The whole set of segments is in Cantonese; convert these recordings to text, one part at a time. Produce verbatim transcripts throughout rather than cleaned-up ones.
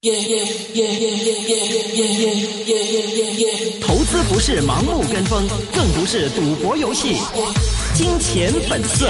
投資不是盲目跟風，更不是賭博遊戲。金錢本色。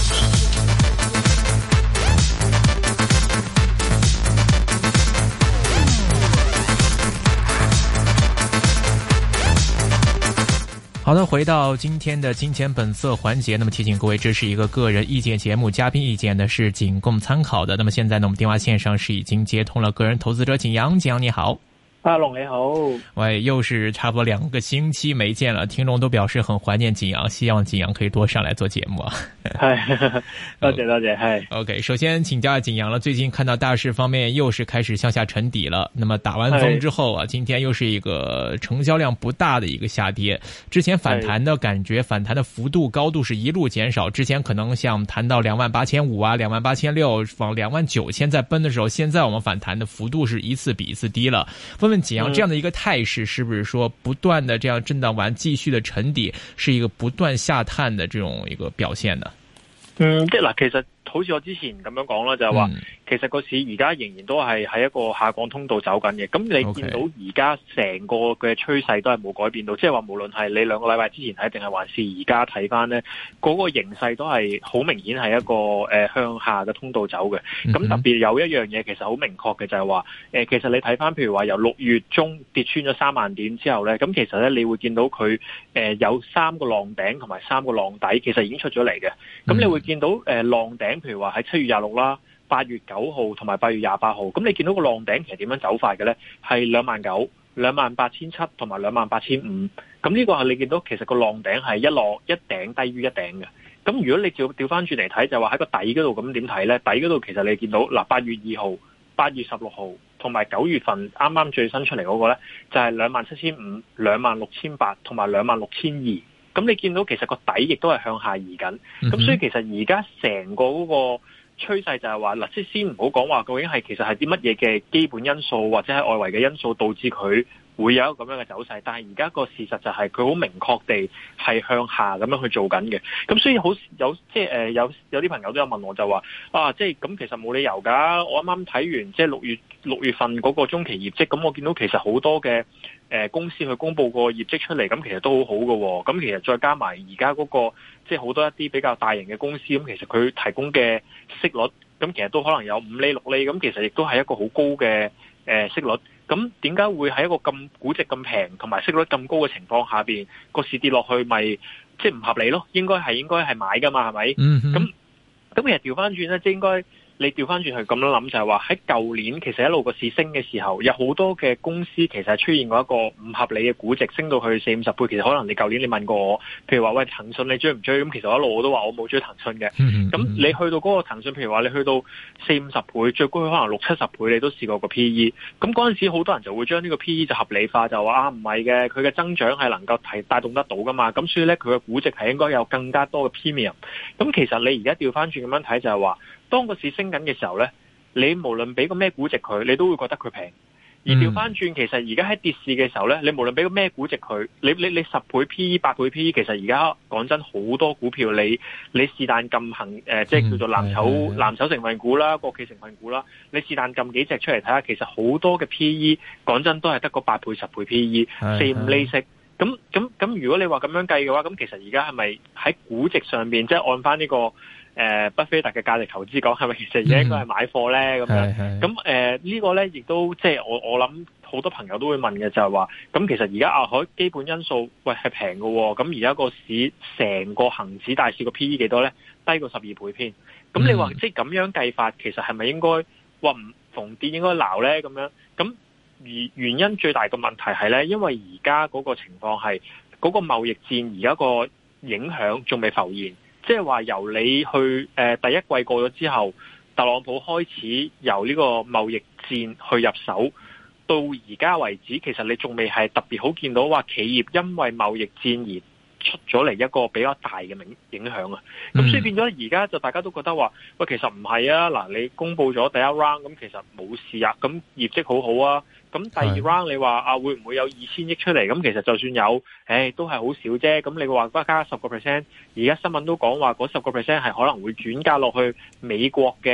好的，回到今天的金錢本色環節，那麼提醒各位，這是一個個人意見節目，嘉賓意見呢是僅供參考的。那麼現在呢，我們電話線上是已經接通了個人投資者景陽，景陽你好。 阿龍你好， 喂，又是差不多兩個星期沒見了，聽眾都表示很懷念景陽，希望景陽可以多上來做節目啊。 係，多謝多謝，係。 OK，首先請教下景陽了，最近看到大市方面又是開始向下沉底了，那麼打完風之後啊，今天又是一個成交量不大的一個下跌，之前反彈的感覺，反彈的幅度高度是一路減少，之前可能像談到兩萬八千五啊，兩萬八千六，往兩萬九千在奔的時候，現在我們反彈的幅度是一次比一次低了。問問景陽，這樣的一個態勢是不是說不斷的這樣震盪完繼續的沉底，是一個不斷下探的這種一個表現呢？ 嗯，即係嗱，其實好似我之前咁樣講啦，就係話，其實個市而家仍然都係喺一個下降通道走緊嘅。咁你見到而家成個嘅趨勢都係冇改變到，即係話無論係你兩個禮拜之前睇定係還是而家睇翻呢，嗰個形勢都係好明顯係一個誒向下嘅通道走嘅。咁特別有一樣嘢其實好明確嘅就係話，誒其實你睇翻譬如話由六月中跌穿咗三萬點之後呢，咁其實呢，你會見到佢誒有三個浪頂同埋三個浪底，其實已經出咗嚟嘅。咁你會見到誒浪頂，譬如話喺七月廿六啦、八月九號同埋八月廿八號，咁你見到個浪頂其實點樣走法嘅呢？係兩萬九、兩萬八千七同埋兩萬八千五。咁呢個係你見到其實個浪頂係一浪一頂低於一頂嘅。咁如果你照調翻轉嚟睇，就話喺個底嗰度咁點睇呢？底嗰度其實你見到嗱，八月二號、八月十六號同埋九月份啱啱最新出嚟嗰個呢，就係兩萬七千五、兩萬六千八同埋兩萬六千二。咁你見到其實個底亦都係向下移緊，咁所以其實而家成個嗰個趨勢就係話，嗱，即係先唔好講話究竟係其實係啲乜嘢嘅基本因素或者係外圍嘅因素導致佢會有一個咁樣嘅走勢，但係而家個事實就係佢好明確地係向下咁樣去做緊嘅。咁所以好有即係誒有有啲朋友都有問我就話啊，即係咁其實冇理由㗎。我啱啱睇完即係六月六月份嗰個中期業績，咁我見到其實好多嘅誒、呃、公司去公佈個業績出嚟，咁其實都好好嘅。咁其實再加埋而家嗰個即係好多一啲比較大型嘅公司，咁其實佢提供嘅息率，咁其實都可能有五厘六厘，咁其實亦都係一個好高嘅誒、呃、息率。咁點解會喺一個咁估值咁平同埋息率咁高嘅情況下邊，個市跌落去咪即係唔合理咯？應該係應該係買噶嘛，係咪？嗯咁咁其實調翻轉咧，即係應該你調翻轉去咁樣諗，就係話喺舊年其實一路個市升嘅時候，有好多嘅公司其實係出現過一個唔合理嘅估值，升到去四五十倍。其實可能你舊年你問過我，譬如話喂騰訊你追唔追？咁其實我一路我都話我冇追騰訊嘅。咁、嗯嗯、你去到嗰個騰訊，譬如話你去到四五十倍，最高可能六七十倍，你都試過個 P E。咁嗰陣時好多人就會將呢個 P E 就合理化，就話啊唔係嘅，佢嘅增長係能夠提帶動得到噶嘛。咁所以咧佢嘅估值係應該有更加多嘅 premium。咁其實你而家調翻轉咁樣睇就係話，當個市升緊嘅時候呢，你無論俾個咩估值佢，你都會覺得佢平。而調翻轉，其實而家喺跌市嘅時候呢，你無論俾個咩估值佢，你你你十倍 P E、八倍 P E， 其實而家講真好多股票，你你是但撳行誒，即係叫做藍籌藍籌成分股啦、國企成分股啦，你是但撳幾隻出嚟睇下，其實好多嘅 P E， 講真都係得個八倍、十倍 P E， 四五厘息。咁咁咁，如果你話咁樣計嘅話，咁其實而家係咪喺估值上邊，即係按翻呢個？誒、呃，巴菲特嘅價值投資講係咪其實而家應該係買貨咧？咁、嗯、樣咁誒、呃這個、呢個咧，亦都即係我我諗好多朋友都會問嘅，就係話咁其實而家亞海基本因素喂係平嘅，咁而家個市成個恒指大市個 P E 幾多咧？低過十二倍偏。咁你話、嗯、即係咁樣計法，其實係咪應該話唔逢跌應該鬧咧？咁樣咁而原因最大嘅問題係咧，因為而家嗰個情況係嗰個貿易戰而家個影響仲未浮現。即係話由你去誒、呃、第一季過咗之後，特朗普開始由呢個貿易戰去入手，到而家為止，其實你仲未係特別好見到話企業因為貿易戰而出咗嚟一個比較大嘅影影響啊。咁所以變咗而家就大家都覺得話，喂，其實唔係啊。嗱，你公佈咗第一 round，咁其實冇事啊。咁業績好好啊。咁第二 round 你話啊會唔會有二千億出嚟？咁其實就算有，誒都係好少啫。咁你話加十個 percent，而家新聞都講話嗰十個 percent 係可能會轉嫁落去美國嘅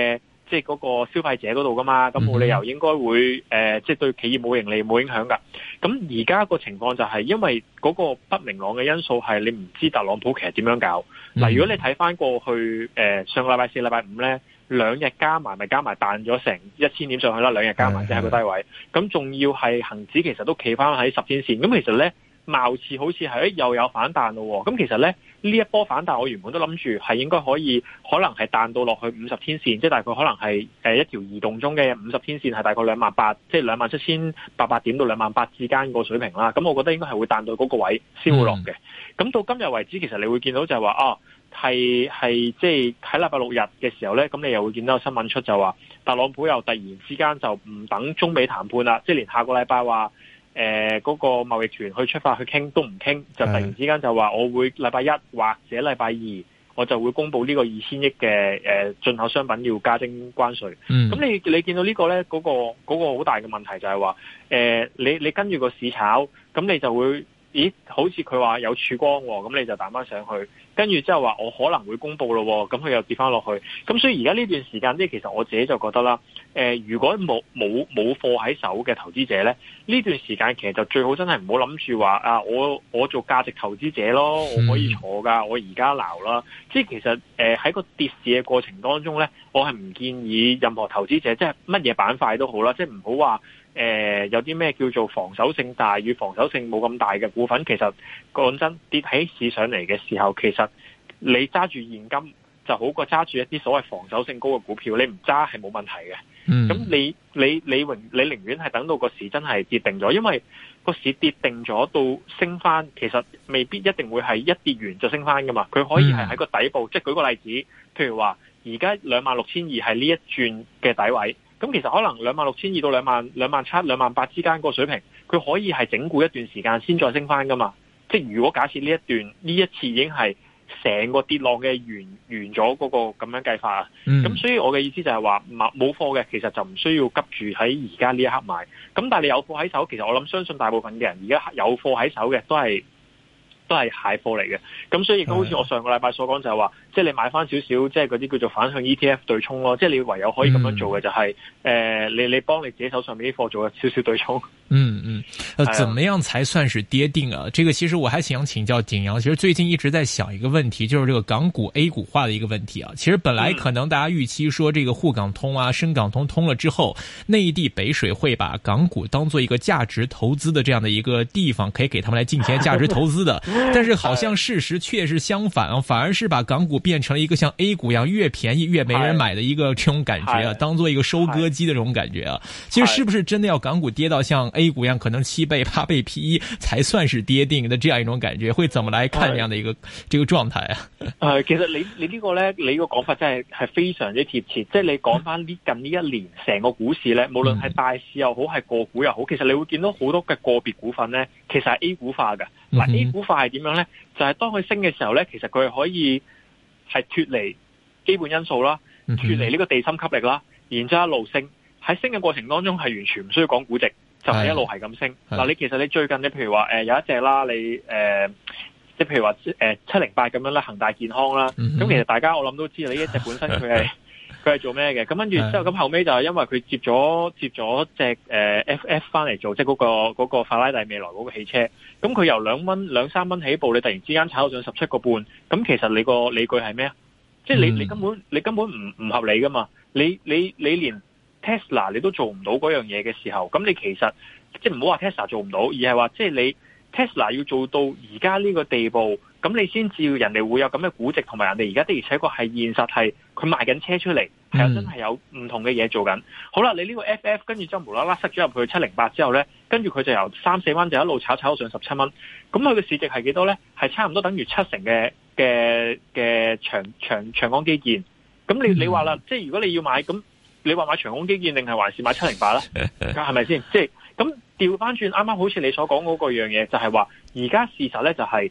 即係嗰個消費者嗰度噶嘛，咁冇理由應該會誒、呃，即係對企業冇盈利冇影響噶。咁而家個情況就係因為嗰個不明朗嘅因素係你唔知特朗普其實點樣搞。嗱、嗯，如果你睇翻過去誒、呃、上個禮拜四、禮拜五咧，兩日加埋咪加埋彈咗成一千點上去啦，兩日加埋即係個低位。咁仲要係恆指其實都企翻喺十天線，咁其實咧貌似好似係又有反彈咯。咁其實咧呢一波反彈，我原本都諗住係應該可以，可能係彈到落去五十天線，即係大概可能係誒一條移動中嘅五十天線係大概兩萬八，即係兩萬七千八百點到兩萬八之間個水平啦。咁我覺得應該係會彈到嗰個位先會落嘅。咁、嗯、到今日為止，其實你會見到就係話啊，係係即係喺禮拜六日嘅時候咧，咁你又會見到新聞出就話特朗普又突然之間就唔等中美談判啦，即係連下個禮拜話。誒、呃，嗰、那個貿易團去出發去傾都唔傾，就突然之間就話我會禮拜一或者禮拜二，我就會公布呢個二千億嘅誒進口商品要加徵關稅。咁、嗯、你你見到個呢個咧，嗰、那個嗰、那個好大嘅問題就係話，誒、呃，你你跟住個市炒，咁你就會，咦，好似佢話有曙光，咁你就彈翻上去。跟住之後話我可能會公布咯，咁佢又跌翻落去。咁所以而家呢段時間，即係其實我自己就覺得啦，誒、呃，如果冇冇冇貨喺手嘅投資者咧，呢段時間其實就最好真係唔好諗住話啊，我我做價值投資者咯，我可以坐噶，我而家撈啦。即係其實誒喺、呃、個跌市嘅過程當中咧，我係唔建議任何投資者，即係乜嘢板塊都好啦，即係唔好話。誒、呃，有啲咩叫做防守性大與防守性冇咁大嘅股份，其實講真跌起市上嚟嘅時候，其實你揸住現金就好過揸住一啲所謂防守性高嘅股票，你唔揸係冇問題嘅。咁、嗯、你你你寧你寧願係等到個市真係跌定咗，因為個市跌定咗到升翻，其實未必一定會係一跌完就升翻噶嘛。佢可以係喺個底部，嗯、即係舉個例子，譬如話而家兩萬六千二係呢一轉嘅底位。咁其實可能兩萬六千二到兩萬兩萬七兩萬八之間個水平，佢可以係整固一段時間先再升翻噶嘛。即係如果假設呢一段呢一次已經係成個跌浪嘅完完咗嗰個咁樣計法啊，咁、嗯、所以我嘅意思就係話冇貨嘅其實就唔需要急住喺而家呢一刻買。咁但係你有貨喺手，其實我諗相信大部分嘅人而家有貨喺手嘅都係都係蟹貨嚟嘅。咁所以亦都好似我上個禮拜所講就係話。即係你買翻少少，即係嗰啲叫做反向 E T F 對沖咯。即係你唯有可以咁樣做嘅就係、是，誒、嗯呃，你你幫你自己手上面啲貨做少少對沖。 嗯嗯，呃，怎麼樣才算是跌定啊？這個其實我還想請教景陽。其實最近一直在想一個問題，就是這個港股 A 股化的一個問題啊。其實本來可能大家預期說，這個滬港通啊、深港通通了之後，內地北水會把港股當做一個價值投資的這樣的一個地方，可以給他們來進行價值投資的。但是好像事實確實相反啊，反而是把港股變成了一個像 A 股一樣越便宜越沒人買的一個這種感覺啊，當做一個收割機的這種感覺啊。其實是不是真的要港股跌到像 A 股一樣，可能七倍八倍 P E 才算是跌定的這樣一種感覺？會怎麼來看這樣的一個這個狀態啊？ 誒，其實你你呢個咧，你個講法真係係非常之貼切。即係你講翻呢近呢一年成個股市咧，無論係大市又好，係個股又好，其實你會見到好多嘅個別股份咧，其實係 A 股化嘅。嗱、嗯、，A 股化係點樣咧？就係、是、當佢升嘅時候咧，其實佢係可以。係脫離基本因素啦，脫離呢個地心吸力啦，然之後一路升，喺升嘅過程當中係完全唔需要講估值，就係、是、一路係咁升。嗱，你其實你最近你譬如話誒、呃、有一隻啦，你誒、呃、即係譬如話誒七零八咁樣啦，恒大健康啦，咁、嗯、其實大家我諗都知道呢一隻本身佢係佢係做咩嘅？咁跟住之後咁後尾就係因為佢接咗接咗隻誒 F F 翻嚟做，即係嗰個嗰、那個法拉第未來嗰個汽車，咁佢由兩蚊兩三蚊起步，你突然之間炒到上十七個半，咁其實你個理據係咩啊？即係你你根本你根本唔唔合理噶嘛？你你你連 Tesla 你都做唔到嗰樣嘢嘅時候，咁你其實即係唔好話 Tesla 做唔到，而係話即係你 Tesla 要做到而家呢個地步。咁你先至人哋會有咁嘅估值，同埋人哋而家的而且確係現實係佢賣緊車出嚟，係有真係有唔同嘅嘢做緊。好啦，你呢個 F F 跟住之後無啦啦塞咗入去七零八之後咧，跟住佢就由三四蚊就一路炒炒到上十七蚊。咁佢嘅市值係幾多咧？係差唔多等於七成嘅嘅嘅長長長江基建。咁你你話啦，即係如果你要買，咁你話買長江基建定係還是買七零八咧？係咪先？即係咁調翻轉，啱啱好似你所講嗰個樣嘢，就係話而家事實咧就係、是。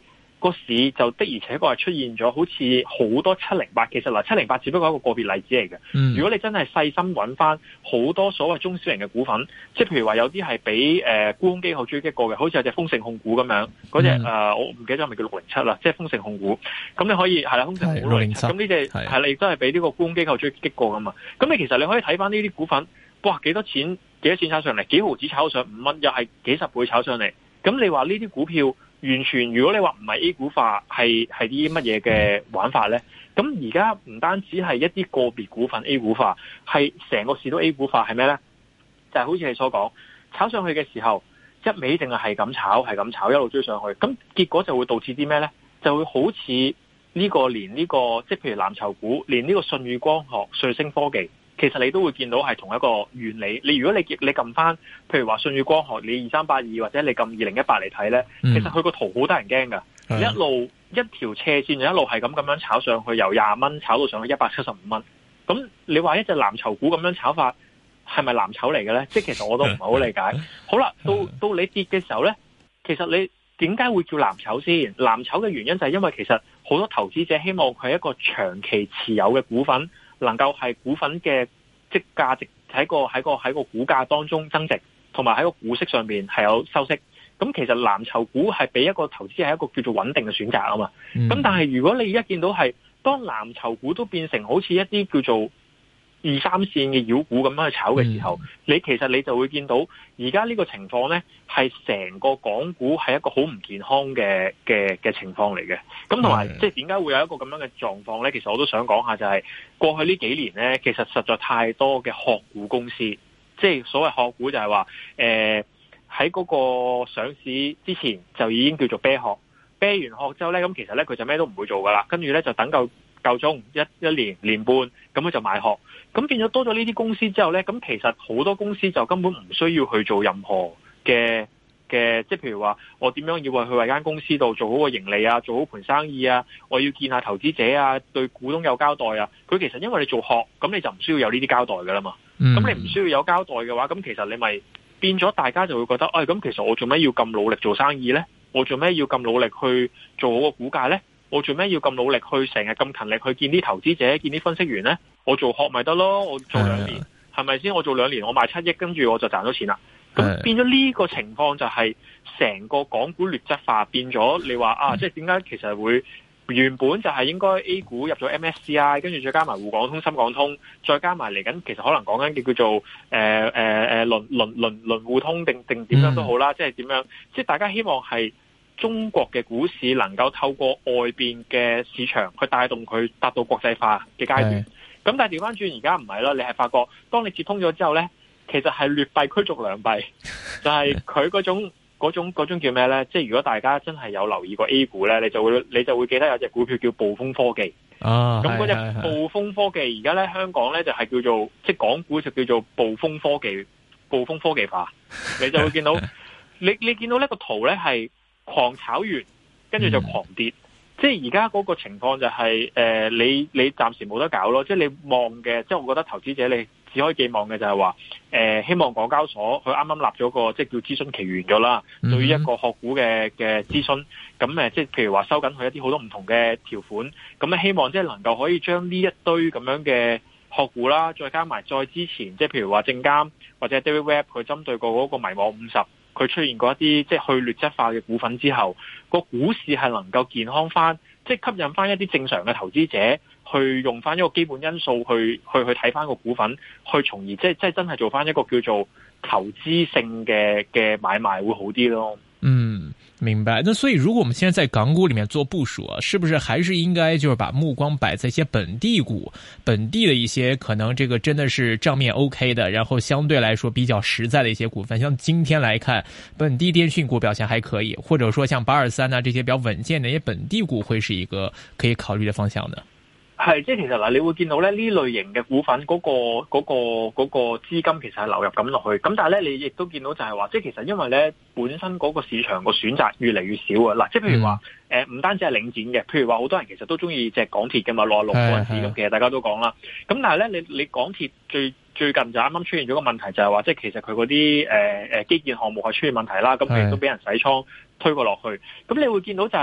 個市就的而且確係出現咗好似好多七零八，其實嗱七零八只不過係一個個別例子嚟嘅。嗯、如果你真係細心揾翻好多所謂中小型嘅股份，即係譬如話有啲係俾誒沽空機構追擊過嘅，好似有隻豐盛控股咁樣，嗰隻誒我唔記得咗係咪叫六零七啦，即係豐盛控股。咁你可以係啦，豐盛控股六零七，咁呢隻係啦，亦都係俾呢個沽空機構追擊過噶嘛。咁你其實你可以睇翻呢啲股份，哇幾多錢幾多錢炒上嚟，幾毫子炒上五蚊，又係幾十倍炒上嚟。咁你話呢啲股票完全，如果你話唔係 A 股化，係係啲乜嘢嘅玩法呢？咁而家唔單止係一啲個別股份 A 股化，係成個市都 A 股化，係咩呢？就係好似你所講，炒上去嘅時候，一味淨係係咁炒，係咁炒，一路追上去，咁結果就會導致啲咩呢？就會好似呢個連呢個，即係譬如藍籌股，連呢個舜宇光學、瑞聲科技。其實你都會見到係同一個原理。你如果你你撳翻，譬如話舜宇光學，你二三八二或者你撳二零一八嚟睇呢，其實佢個圖好得人驚噶，嗯、一路一條斜線就一路係咁咁樣炒上去，由廿蚊炒到上去一百七十五蚊。咁你話一隻藍籌股咁樣炒法，係咪藍籌嚟嘅呢？即係其實我都唔係好理解。好啦，到到你跌嘅時候呢，其實你點解會叫藍籌先？藍籌嘅原因就係因為其實好多投資者希望佢係一個長期持有嘅股份。能夠係股份嘅即價值喺個喺個喺個股價當中增值，同埋喺個股息上面係有收息。咁其實藍籌股係俾一個投資係一個叫做穩定嘅選擇啊嘛。咁、嗯、但係如果你一見到係當藍籌股都變成好似一啲叫做二三線嘅妖股咁樣去炒嘅時候，嗯、你其實你就會見到而家呢個情況呢，係成個港股係一個好唔健康嘅嘅嘅情況嚟嘅。咁同埋即係點解會有一個咁樣嘅狀況呢？其實我都想講下，就係過去呢幾年呢，其實實在太多嘅殼股公司，即係所謂殼股就係話誒喺嗰個上市之前就已經叫做啤殼，啤完殼之後呢，咁其實呢，佢就咩都唔會做噶啦，跟住呢，就等夠夠鐘一一年年半，咁佢就賣殼。咁變咗多咗呢啲公司之後呢，咁其實好多公司就根本唔需要去做任何嘅嘅，即係譬如話我點樣要去為間公司度做好個盈利啊，做好盤生意啊，我要見下投資者啊，對股東有交代啊。佢其實因為你做殼，咁你就唔需要有呢啲交代噶啦嘛。咁、嗯、你唔需要有交代嘅話，咁其實你咪變咗大家就會覺得，哎，咁其實我做咩要咁努力做生意呢？我做咩要咁努力去做好個股價呢？我做咩要咁努力去成日咁勤力去見啲投資者、見啲分析員呢？我做殼咪得咯，我做兩年係咪先？我做兩年我賣七億，跟住我就賺到錢啦。咁變咗呢個情況就係成個港股劣質化，變咗你話啊，即係點解其實會原本就係應該 A 股入咗 M S C I， 跟住再加埋滬港通、深港通，再加埋嚟緊，其實可能講緊嘅叫做誒誒誒輪輪輪輪互通定定點樣都好啦，即係點樣？即係大家希望係。中國嘅股市能夠透過外邊嘅市場去帶動佢達到國際化嘅階段，咁是但係調翻轉而家唔係啦，你係發覺當你接通咗之後呢，其實係劣幣驅逐良幣，就係佢嗰種嗰種嗰種叫咩呢？即係如果大家真係有留意過 A 股呢，你就會你就會記得有隻股票叫暴風科技，咁嗰隻暴風科技而家呢，香港呢就係叫做即係港股就叫做暴風科技，暴風科技化，你就會見到你你見到呢個圖呢係。狂炒完，跟住就狂跌，嗯、即係而家嗰個情況就係、是，誒、呃，你你暫時冇得搞咯，即係你望嘅，即係我覺得投資者你只可以寄望嘅就係話，誒、呃，希望港交所佢啱啱立咗個即係叫諮詢期完咗啦，嗯、對於一個殼股嘅嘅諮詢，咁誒，即係譬如話收緊佢一啲好多唔同嘅條款，咁咧希望即係能夠可以將呢一堆咁樣嘅殼股啦，再加埋再之前，即係譬如話證監或者 David Webb 佢針對過嗰個迷網五十。佢出現過一啲即係去劣質化嘅股份之後，個股市係能夠健康翻，即係吸引翻一啲正常嘅投資者去用翻一個基本因素去去去睇翻個股份，去從而即係即係真係做翻一個叫做投資性嘅嘅買賣會好啲咯。嗯， 明白。那所以如果我們現在在港股裏面做部署啊，是不是還是應該就是把目光擺在一些本地股，本地的一些可能這個真的是賬面 OK 的，然後相對來說比較實在的一些股份，像今天來看本地電訊股表現還可以，或者說像八二三啊這些比較穩健的一些本地股會是一個可以考慮的方向呢？ 係，即係其實嗱，你會見到咧呢類型嘅股份嗰、嗰個嗰、嗰個嗰、嗰個資金其實係流入咁落去，咁但係咧你亦都見到就係話，即係其實因為咧本身嗰個市場個選擇越嚟越少啊，嗱，即係譬如話誒唔單止係領展嘅，譬如話好多人其實都中意隻港鐵嘅嘛，六十六嗰陣時咁，其實大家都講啦，咁但係咧你你港鐵最最近就啱啱出現咗個問題，就係話即係其實佢嗰啲誒誒基建項目係出現問題啦，咁佢亦都俾人洗倉推過落去，咁你會見到就係話。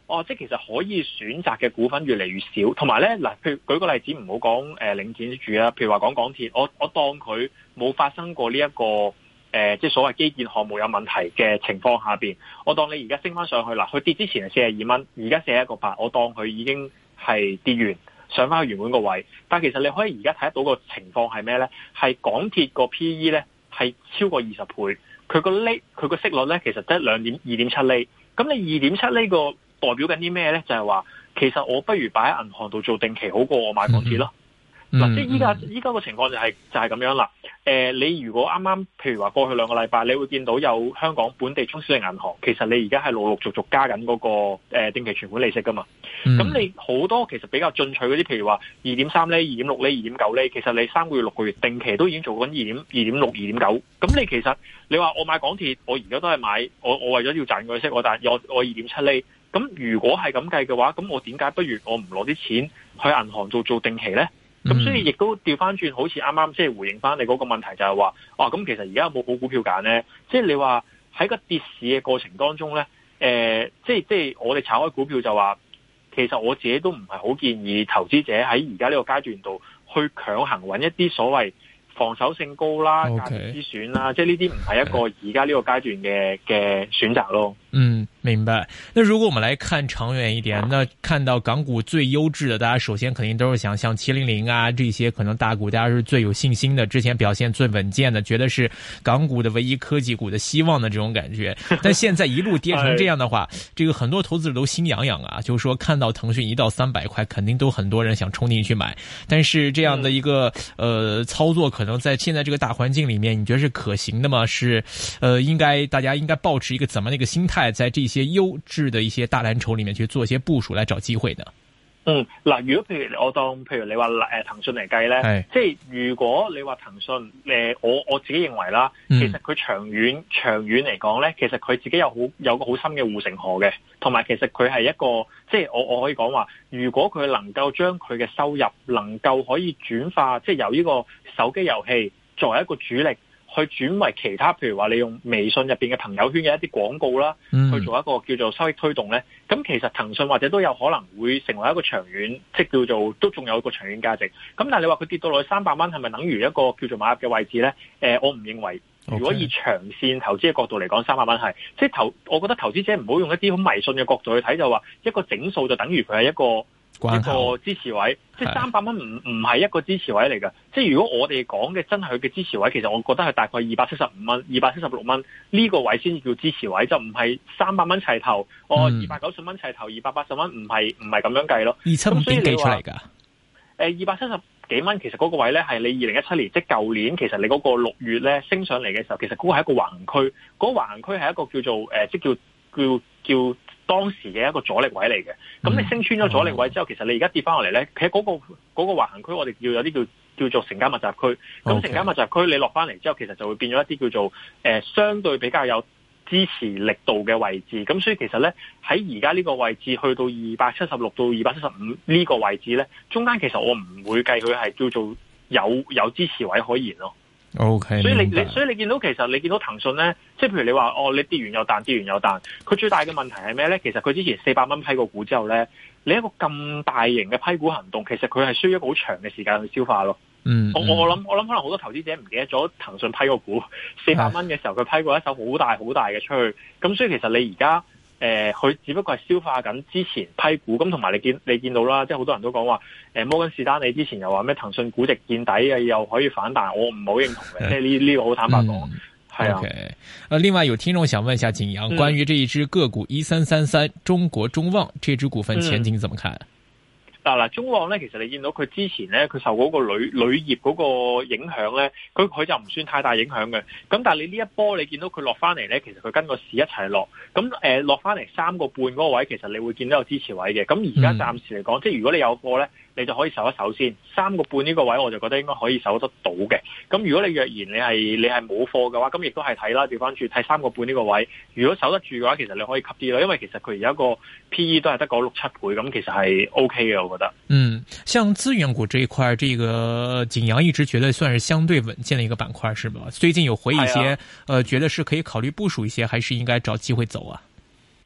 哦，即係其實可以選擇嘅股份越嚟越少，同埋咧嗱，譬如舉個例子，唔好講誒領展住啦，譬如話講港鐵，我我當佢冇發生過呢、這、一個誒、呃，即係所謂基建項目有問題嘅情況下邊，我當你而家升翻上去啦，佢跌之前係四十二蚊，而家四十一個八，我當佢已經係跌完上翻去原本個位，但係其實你可以而家睇得到個情況係咩咧？係港鐵個 P E 咧係超過二十倍，佢個厘佢個息率咧其實得兩點二點七厘，咁你二點七厘個代表緊啲咩咧？就係、是、話其實我不如擺喺銀行度做定期好過我買港鐵咯。嗱、嗯，即係依家依家個情況就係、是、就係、是、咁樣啦。誒、呃，你如果啱啱譬如話過去兩個禮拜，你會見到有香港本地中小型銀行，其實你而家係陸陸續續加緊嗰、那個誒、呃、定期存款利息噶嘛。咁、嗯、你好多其實比較進取嗰啲，譬如話二點三厘、二點六厘、二點九厘，其實你三個月、六個月定期都已經做緊二點二點六、二點九。咁你其實你話我買港鐵，我而家都係買我我為咗要賺個息，我但係我我二點七厘。咁如果係咁計嘅話，咁我點解不如我唔攞啲錢去銀行做做定期咧？咁、嗯、所以亦都調翻轉，好似啱啱即係回應翻你嗰個問題就，就係話，哦，咁其實而家有冇好股票揀咧？即係你話喺個跌市嘅過程當中咧，誒、呃，即係即係我哋炒開股票就話，其實我自己都唔係好建議投資者喺而家呢個階段度去強行揾一啲所謂防守性高啦、價值之選啦，即係呢啲唔係一個而家呢個階段嘅嘅選擇咯。 嗯，明白。那如果我們來看長遠一點，那看到港股最優質的，大家首先肯定都是想像七零零啊這些可能大股，大家是最有信心的，之前表現最穩健的，覺得是港股的唯一科技股的希望的這種感覺。但現在一路跌成這樣的話，這個很多投資者都心癢癢啊，就是說看到騰訊一到三百塊，肯定都很多人想衝進去買。但是這樣的一個呃操作，可能在現在這個大環境裡面，你覺得是可行的嗎？是呃應該大家應該抱持一個怎麼樣的一個心態？在這些優質的一些大藍籌裏面去做一些部署來找機會呢？ 嗯，嗱，如果譬如我當譬如你話誒騰訊嚟計咧，即係如果你話騰訊誒，我我自己認為啦，其實佢長遠、嗯、長遠嚟講咧，其實佢自己有好有個好深嘅護城河嘅，同埋其實佢係一個即係我我可以講話，如果佢能夠將佢嘅收入能夠可以轉化，即係由呢個手機遊戲作為一個主力。去轉為其他，譬如話你用微信入邊嘅朋友圈嘅一啲廣告啦，嗯、去做一個叫做收益推動咧。咁其實騰訊或者都有可能會成為一個長遠，即叫做都仲有一個長遠價值。咁但係你話佢跌到落去三百蚊，係咪等於一個叫做買入嘅位置咧？誒、呃，我唔認為。如果以長線投資嘅角度嚟講，三百蚊係即係投，我覺得投資者唔好用一啲好迷信嘅角度去睇，就話一個整數就等於佢係一個。一個支持位，即係三百蚊唔唔係一個支持位嚟嘅。即係如果我哋講嘅真係佢嘅支持位，其實我覺得係大概二百七十五蚊、二百七十六蚊呢個位先至叫支持位，就唔係三百蚊齊頭，哦二百九十蚊齊頭，二百八十蚊唔係唔係咁樣計咯。二七五點幾出嚟㗎？誒二百七十幾蚊，其實嗰個位咧係你二零一七年，即係舊年，其實你嗰個六月咧升上嚟嘅時候，其實嗰個係一個橫行區，嗰、那個橫行區係一個叫做誒、呃，即叫叫叫。叫當時嘅一個阻力位嚟嘅，咁你升穿咗阻力位之後，其實你而家跌翻落嚟咧，其實嗰個嗰個橫行區，我哋叫有啲叫叫做成交密集區。咁成交密集區你落翻嚟之後，其實就會變咗一啲叫做誒、呃、相對比較有支持力度嘅位置。咁所以其實咧喺而家呢個位置去到二百七十六到二百七十五呢個位置咧，中間其實我唔會計佢係叫做有有支持位可言咯。 O K， 所以你你所以你見到其實你見到騰訊咧，即係譬如你話哦，你跌完又彈，跌完又彈，佢最大嘅問題係咩咧？其實佢之前四百蚊批個股之後咧，你一個咁大型嘅批股行動，其實佢係需要一個好長嘅時間去消化咯。嗯，我我諗我諗可能好多投資者唔記得咗騰訊批個股四百蚊嘅時候，佢批過一手好大好大嘅出去，咁所以其實你而家。誒，佢、呃、只不過係消化緊之前批股，咁同埋你見你見到啦，即係好多人都講話，誒、呃，摩根士丹利之前又話咩騰訊估值見底嘅，又可以反彈，我唔好認同嘅，即係呢呢個好坦白講，係、嗯、啊。Okay. 呃，另外有聽眾想問一下景陽，關於這一支個股一三三三中國中旺這支股份前景怎麼看？嗱嗱、嗯，中旺咧，其實你見到佢之前咧，佢受嗰個鋁鋁業嗰個影響咧，佢佢就唔算太大影響嘅。咁但係你呢一波你見到佢落翻嚟咧，其實佢跟個市一齊落。咁誒落翻嚟三個半嗰個位，其實你會見到有支持位嘅。咁而家暫時嚟講，嗯、即係如果你有貨咧，你就可以守一守先。三個半呢個位，我就覺得應該可以守得到嘅。咁如果你若然你係你係冇貨嘅話，咁亦都係睇啦，調翻轉睇三個半呢個位。如果守得住嘅話，其實你可以吸啲咯，因為其實佢而家個 P E 都係得個六七倍，咁其實係 O K 嘅，我覺得。嗯，像資源股這一塊，這個景陽一直覺得算是相對穩健的一個板塊，是吧？最近有回一些，啊、呃，覺得是可以考慮部署一些，還是應該找機會走啊？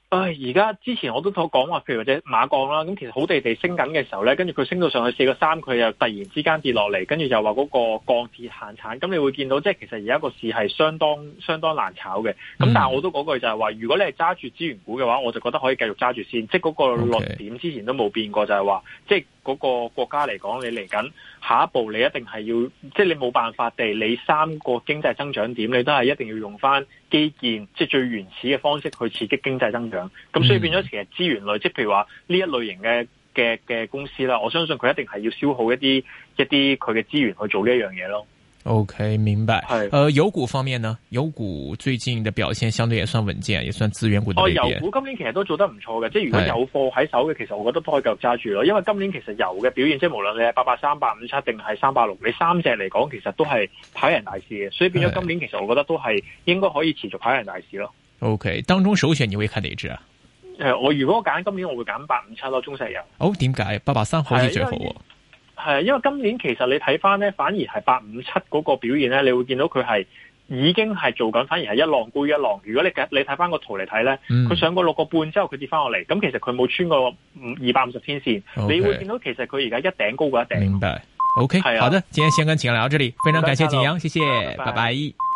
唉，而家之前我都同講話，譬如或者馬鋼啦，咁其實好地地升緊嘅時候咧，跟住佢升到上去四個三，佢又突然之間跌落嚟，跟住又話嗰個鋼鐵限產，咁你會見到即係其實而家個市係相當相當難炒嘅。咁、嗯、但係我都嗰句就係話，如果你係揸住資源股嘅話，我就覺得可以繼續揸住先，即係嗰個論點之前都冇變過，就係話即係嗰個國家嚟講，你嚟緊下一步你一定係要，即係你冇辦法地，你三個經濟增長點，你都係一定要用翻基建，即係最原始嘅方式去刺激經濟增長。咁所以變咗其實資源類，即係譬如話呢一類型嘅嘅嘅公司啦，我相信佢一定係要消耗一啲一啲佢嘅資源去做呢一樣嘢咯。 OK， 明白。係，呃，油股方面呢？油股最近嘅表現相對也算穩健，也算資源股的類別。哦，油股今年其實都做得唔錯嘅，即係如果有貨喺手嘅，其實我覺得都可以繼續揸住咯。因為今年其實油嘅表現，即係無論你係八八三、八五七定係三八六，你三隻嚟講，其實都係跑贏大市嘅。所以變咗今年其實我覺得都係應該可以持續跑贏大市咯。OK， 當中首選你會看哪隻啊？誒、呃，我如果揀今年，我會揀八五七咯，中石油。哦，點解？八八三好似最好喎。係，因為今年其實你睇翻咧，反而係八五七嗰個表現咧，你會見到佢係已經係做緊，反而係一浪高一浪。如果你你睇翻個圖嚟睇咧，佢、嗯、上過六個半之後，佢跌翻落嚟，咁其實佢冇穿過二百五十天線。Okay. 你會見到其實佢而家一頂高過一頂。明白。OK，好的，今天先跟景陽聊到這裡，非常感謝景陽，謝謝，拜拜。拜拜。